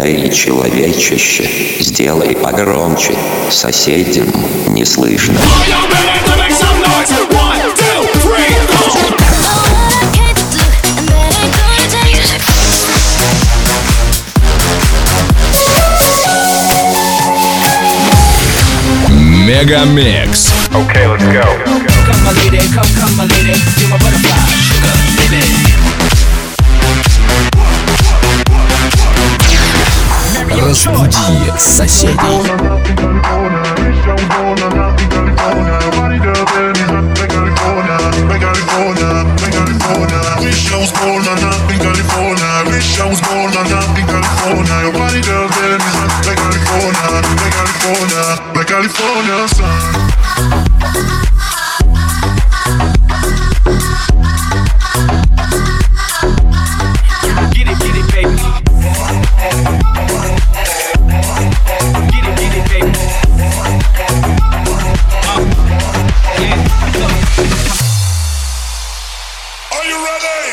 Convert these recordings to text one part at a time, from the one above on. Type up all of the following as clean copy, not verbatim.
Эй, человечище, сделай погромче, соседям не слышно. Мегамикс. Okay, let's go. Come my lady, come my lady, you're my butterfly, sugar, baby. Разбуди соседей. California sun. Get it, baby. Get it, baby. Are you ready?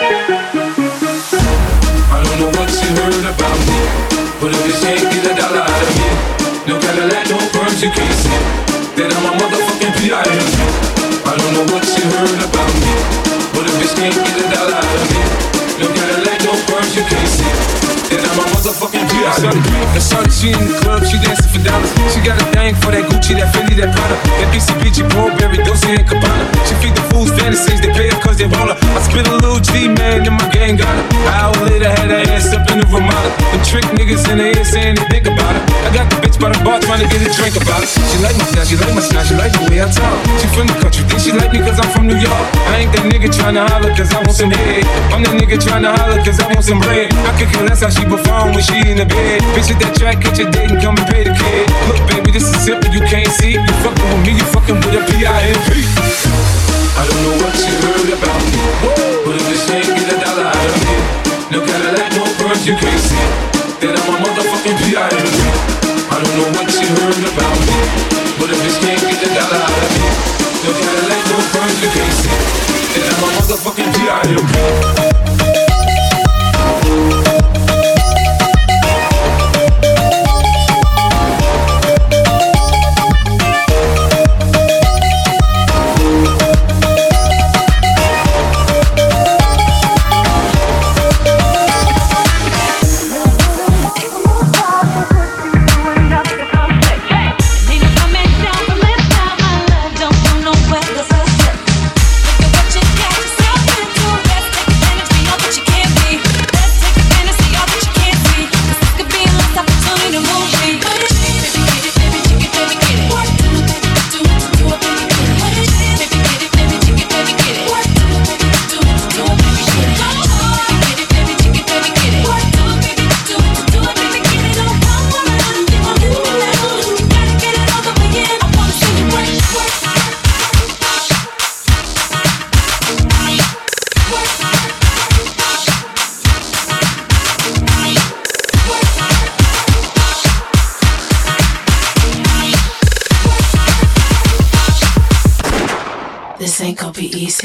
I don't know what you heard about me, but if you can't get a dollar out of me, no Cadillac, no perms, you can't see that I'm a motherfucking P.I.M.P. I don't know what you heard about me, but if you can't get a dollar out of me, no Cadillac, no perms, you can't see that I'm a motherfucking P.I.M.P. I saw that she in the club, she dancing for dollars. She got a thing for that Gucci, that Fendi, that Prada, that BCBG, Burberry, Dolce and Gabbana. She feed the fools fantasies, they pay her cause they want her. I spit a little G, man, and my gang got her. An hour later, had her ass up in the Ramada. The trick niggas in the ear saying they think about her. I got the bitch by the bar trying to get a drink about it. She like my style, she like my style, she like the way I talk. She from the country, think she like me cause I'm from New York. I ain't that nigga tryna holler cause I want some head. I'm that nigga tryna holler cause I want some bread. I could care less how she perform when she in the bed. Bitch at that track, catch a date and come and pay the kid. Look baby, this is simple, you can't see. You fucking with me, you fucking with a P.I.M.P. I don't know what you heard about me, but if this ain't get a dollar out of me, no Cadillac, no perms, you can't see that I'm a motherfucking P.I.M.P. I don't know what you heard about me, but if this can't get a dollar out of me, no Cadillac, no perms, you can't see that I'm a motherfucking P.I.M.P. This ain't gonna be easy.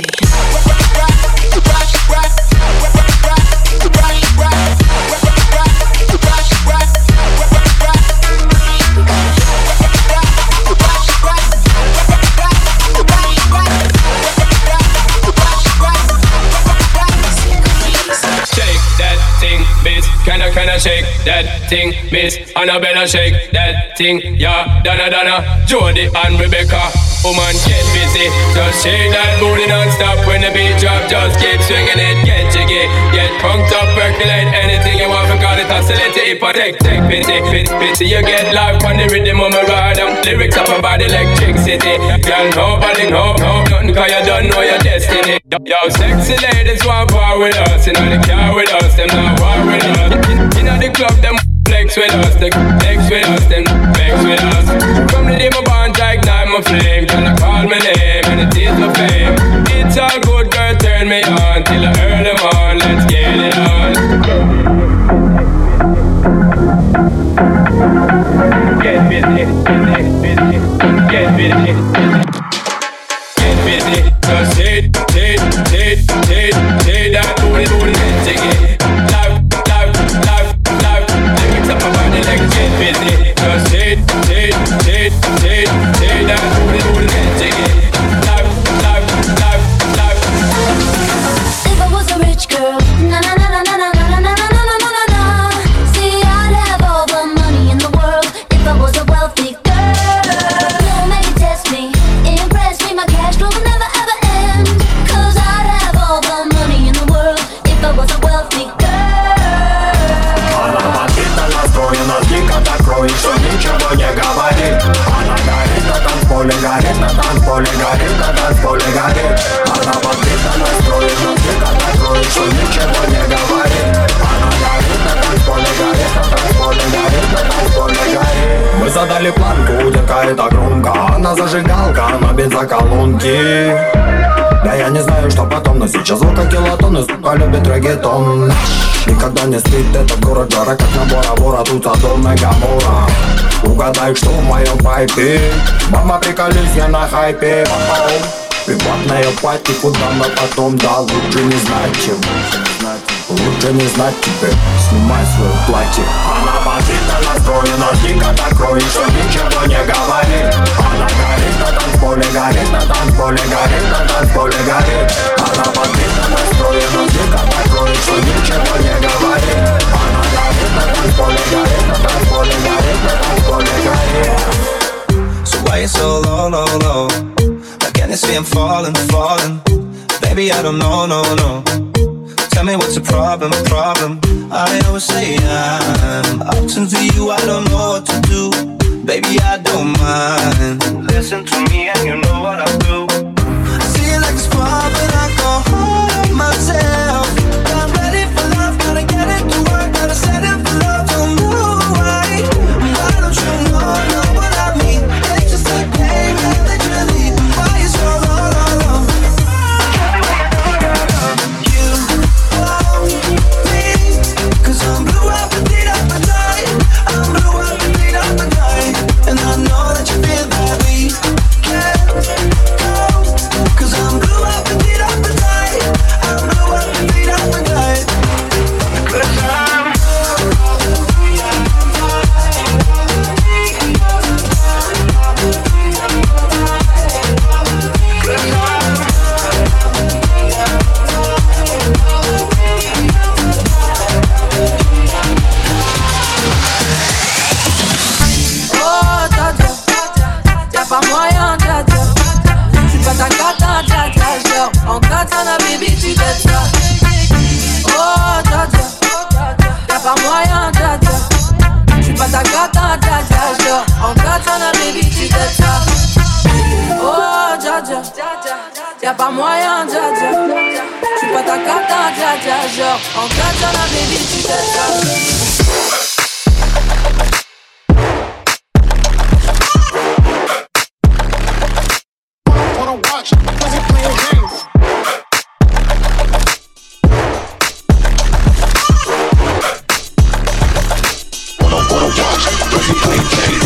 Can I shake that thing, miss? Annabella shake that thing, yeah, Donna, Jody and Rebecca. Woman, get busy, just shake that booty non-stop. When the beat drop, just keep swinging it. Get jiggy, get punked up, percolate anything you want. Forgot it, oscillate it, take pity. You get live on the rhythm of my ride. Lyrics up about electricity. Girl, nobody know nothing cause you don't know your destiny. Yo, sexy ladies want war with us. You know the car with us, them not war with us. You know the club, them flex with us. They flex with us, them flex with us. From the day my bond, I ignite my flame. Gonna call my name and it is my fame. It's all good, girl, turn me on till I earn them on. Let's get it on. Get busy, get busy. Just hit that booty, take it. Live, let me visit. Just take that booty and take it. Life. If I was a rich girl, na na na na na na na na na na na na na. See, I'd have all the money in the world if I was a wealthy girl. No, maybe test me, impress me, my cash flow will never ever end. 'Cause I'd have all the money in the world if I was a wealthy girl. Она бандитно настроена, дико так кроет, что ничего не говорит. Она горит на танцполе, горит на танцполе, горит на танцполе, горит. Она бандитно настроена, дико так кроет, что ничего не говорит. Она горит на танцполе, горит на танцполе, горит на танцполе, горит. Мы задали планку, утекает это громко. Она зажигалка на бензоколонке. Да я не знаю, что потом, но сейчас звука килотонны, сука, любит реггетон. Никогда не спит этот город, жара как на Бора-Бора, тут Содом и Гоморра. Угадай, что в моем пайпе. Мама, приколюсь, я на хайпе. Приватная пати, куда мы потом, да, лучше не знать, чем. Лучше не знать тебе, снимай свое платье. Она бандитно настроена, дико так кроет, что ничего не говорит. Она горит на танцполе, горит на танцполе, горит на танцполе, горит. Она бандитно настроена, дико так кроет, что ничего не говорит. Она горит на танцполе, горит на танцполе, горит на танцполе, горит. So why you so low, low, low? Like can you see I'm falling, falling? Baby, I don't know, no, no. Tell me what's the problem. I always say I'm up to you, I don't know what to do. Baby, I don't mind. Listen to me and you know what I'll do. I see it like a spark when I go home myself. I'm ready for love, gotta get it to work, gotta set it for love. Don't know why don't you know what I mean? It's just like pain, that you leave. Why you so low, low, low? I'm blue up and beat up and die. I'm blue up and beat up and die. And I know that you feel that we can't go. 'Cause I'm blue up and beat up and die. I'm blue up and beat up and die. 'Cause I'm pas moyen, dja dja. J'suis pas ta cata, dja dja. Genre, en katana, baby, tu t'aides ça. Oh, dja dja. Y'a pas moyen, dja dja. J'suis pas ta cata, dja dja. Genre, en katana, baby, tu t'aides ça. Oh, dja dja. Y'a pas moyen, dja dja. J'suis pas ta cata, dja dja. Genre, en katana, baby, tu t'aides ça. Watch, cause he playing games. Wanna watch, cause he playing games.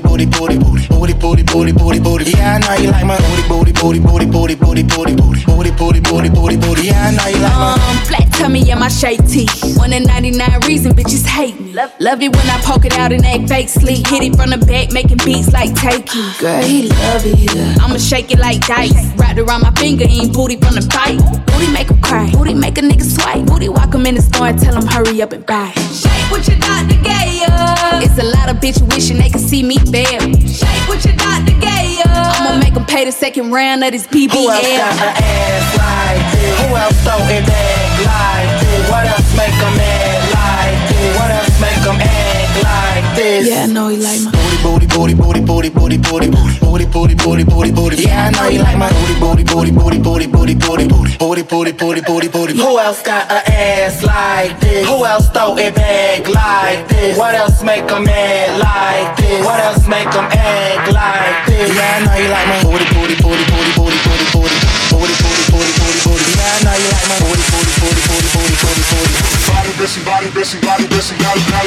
booty, booty, booty, booty, booty, booty, booty, booty. Yeah, I know you like my booty, booty, booty, booty, booty, booty, booty, booty, booty, booty, booty, booty, booty. Yeah, I know you like my flat tummy and my shake tee. 1 in 99 reason bitches hate me. Love it when I poke it out and act fake sleep. Hit it from the back, making beats like Takey. Girl, he love it. I'ma shake it like dice. Wrapped around my finger, eating booty from the bite. Booty make him cry. Booty make a nigga swipe. Booty walk him in the store and tell him hurry up and buy. Shake what your doctor gave ya. It's a lot of bitch wishing they could see me fail. Shake what your doctor gave ya. I'ma make him pay the second round of this BBL. Who else got an ass like this? Who else throw it back like this? What else make them act like this? What else make them act like this? Yeah, I know he like my booty, booty, booty, booty, booty, booty, booty, booty, booty, booty, booty, booty. Yeah, I know you like my booty, booty, booty, booty, booty, booty, booty, booty, booty, booty, booty, booty, booty. Who else got an ass like this? Who else throw it back like this? What else make them act like this? What else make them act like this? Yeah, I know you like my booty, booty, booty, booty, booty, booty, booty, booty, booty, booty, booty, booty. Yeah, I know you like my booty, booty, booty, booty, booty, booty, booty. Body, busy, body, busy, body, busy, body, body.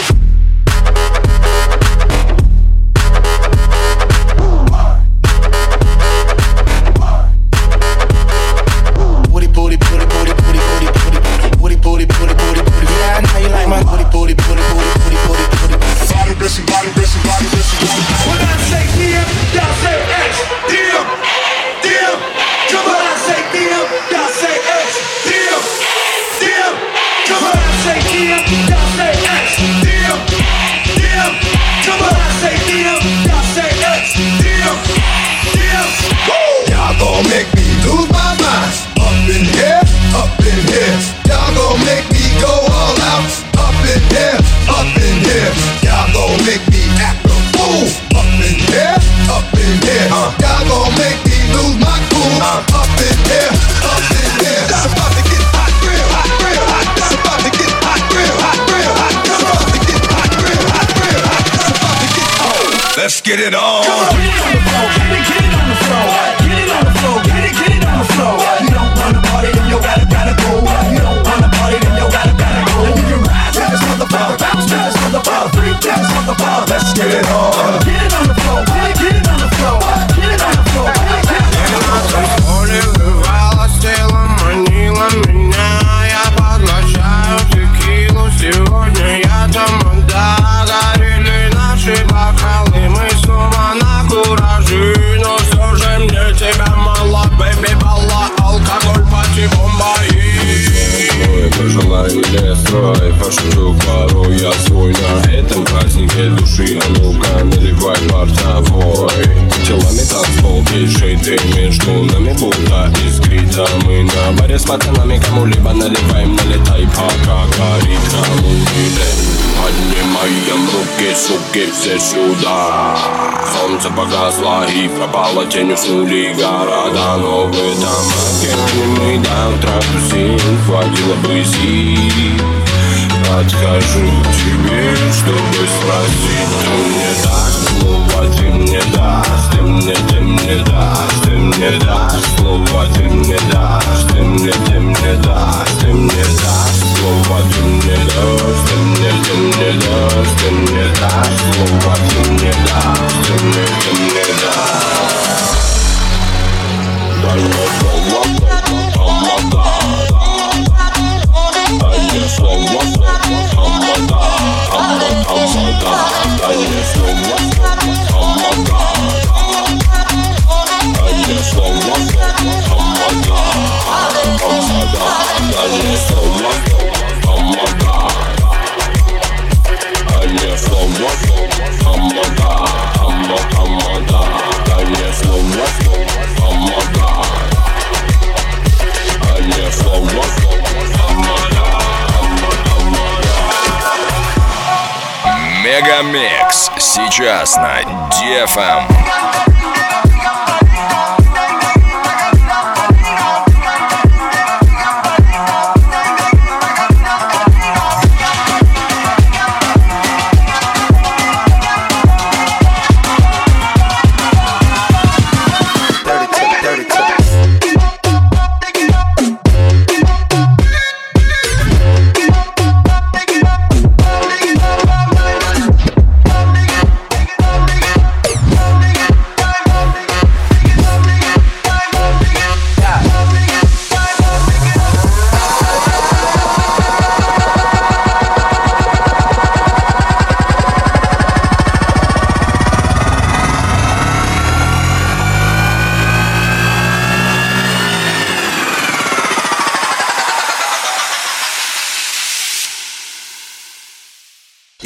Let's get it on. Get it on the floor, get it on the floor, get it on the floor, get it on the floor. You don't wanna party, then you gotta go. You don't wanna party, then you gotta go. And you can rise to this motherfucker, bounce to this motherfucker, freak to this motherfucker. Let's get it on. Get it on the floor, get it on the floor, get it on the floor, get it on the floor. Море вырвало с тела, манила меня. Я поглощаю текилу, сегодня я тамада. Горели наши бокалы, мы снова на кураже. Но все же мне тебя мало, бэби, балла, алкоголь, пати, бомба и пожелай или строй, пошучу пару, я свой на этом празднике души. А ну-ка, наливай портовой. Телами танцпол, пиши ты между нами, будто искрита. Мы на баре с пацанами, кому-либо наливаем, налетай, пока горит, кому не поднимаем руки, суки, все сюда. Солнце погасло и пропало, тень уснули города. Но в этом океане мы до утра тусим, хватило бы сил. Подхожу к тебе, чтобы спросить. Ты мне дашь слово, ты мне дашь, ты мне дашь, ты мне дашь слово, ты мне дашь, ты мне дашь, ты мне дашь слово, ты мне дашь, ты мне дашь, ты мне дашь слово, ты мне дашь, ты мне дашь. Дай мне слово, помогай. Дай мне слово, помогай. Дай мне слово, помогай. Дай мне слово, помогай. Дай мне слово, помогай. Дай мне слово, помогай. Дай мне слово, помогай. Дай мне слово, помогай. Мегамикс сейчас на DFM.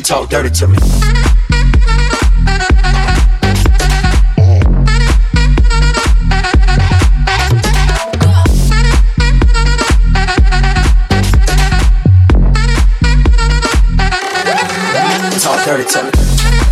You talk dirty to me. Talk dirty to me.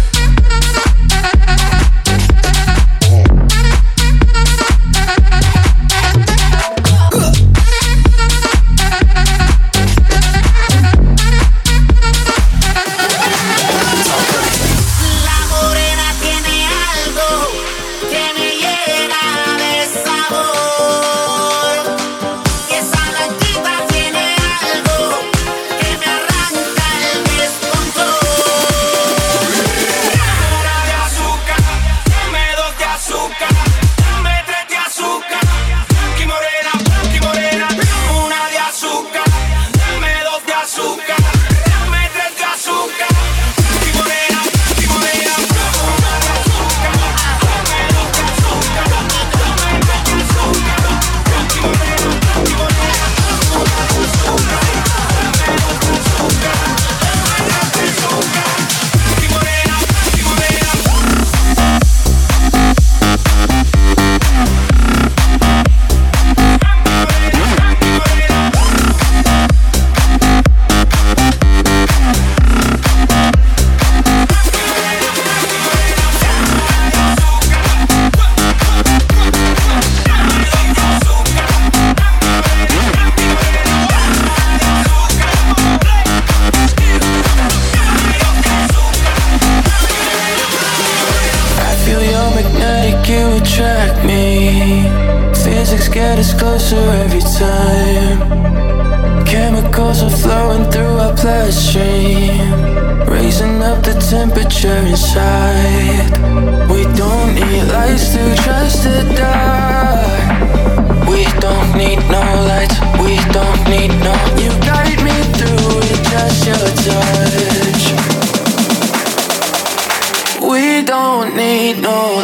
Every time chemicals are flowing through our bloodstream, raising up the temperature inside. We don't need lights to trust the dark. We don't need no lights. We don't need no. You guide me through it, just your touch. We don't need no.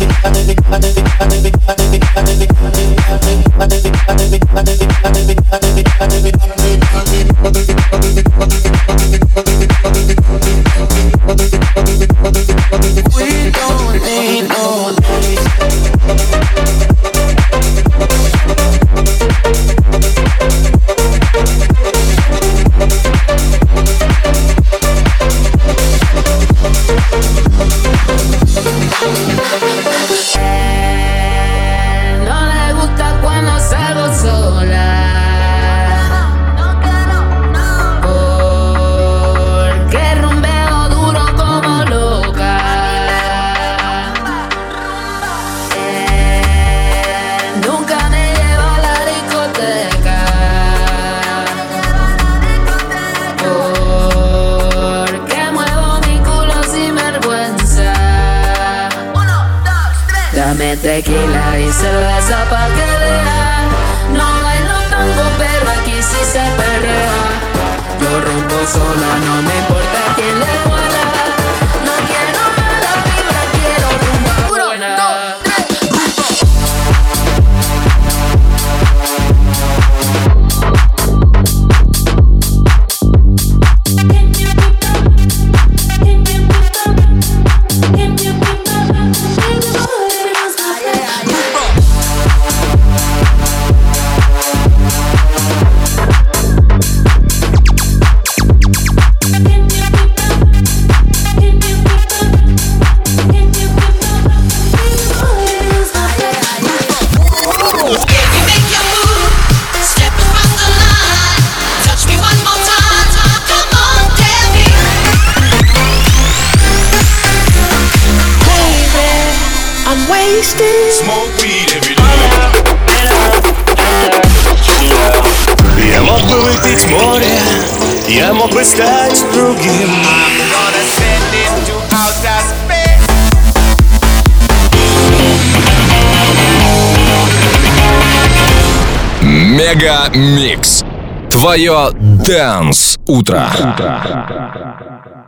We don't need no. Tequila y cerveza pa' que vea. No bailo tango, pero aquí sí se perrea. Yo rompo sola, no me importa quién le duela. No quiero mala vibra, quiero rumba buena. 1, 2, 3. Smoke weed every day. Я мог бы выпить море, я мог бы стать другим. Мега Микс. Твое Dance утро.